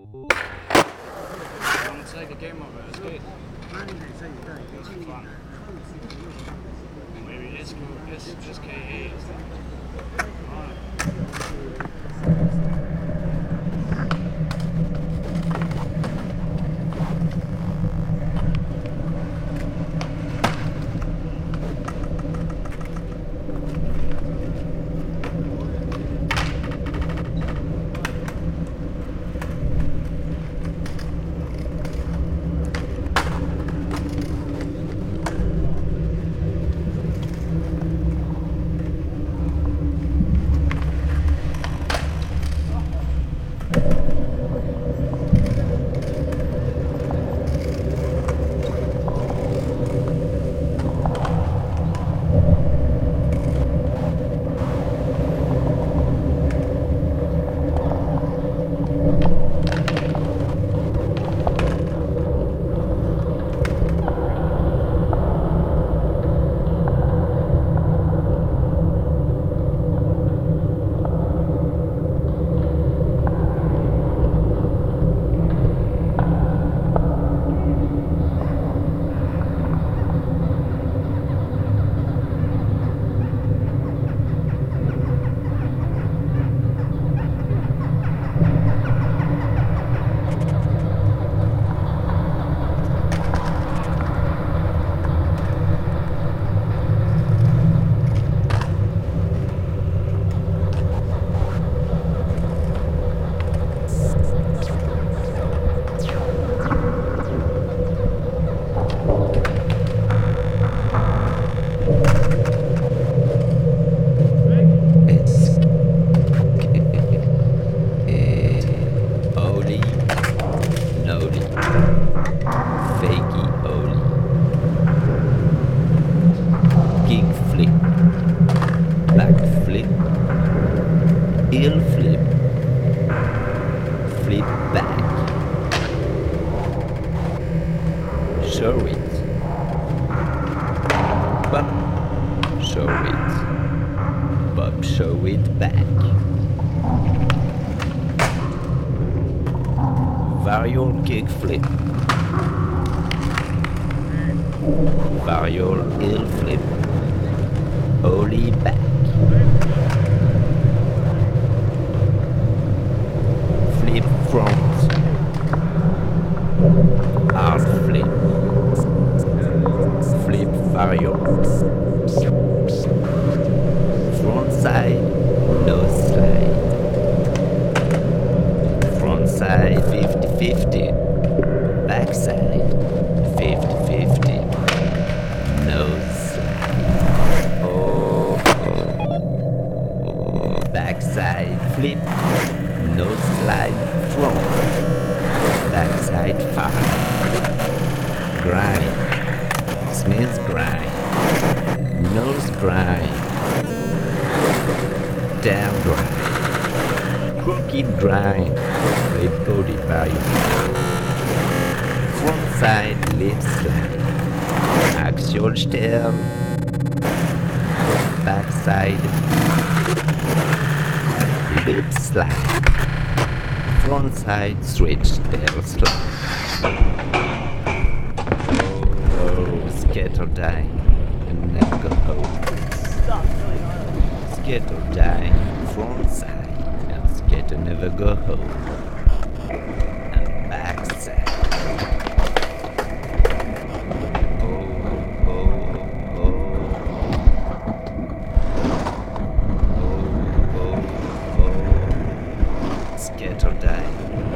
Want to take a game of it as good? It's fun. Maybe it's KE. Heel flip, flip back, show it, bop, show it, bop, show it back, varial kick flip, varial heel flip, ollie back. Flip front, hard flip, flip varial, front side, no slide, front side 50-50, back side 50-50, no slide, back side flip, no slide front, backside 5, grind, Smith grind, nose grind, down grind, crooked grind, with body value, front side lip slide, axial stem, backside lip slide, front side switch tail slide. Oh, scatter die and never go home. Scatter die, front side, and scatter never go home. And back side. Scatter die.